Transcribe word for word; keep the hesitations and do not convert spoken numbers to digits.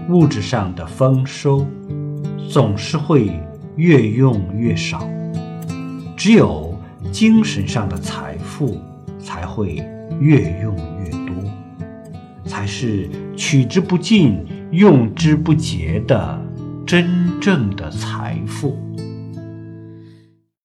物质上的丰收总是会越用越少，只有精神上的财富才会越用越多，才是取之不尽用之不竭的真正的财富。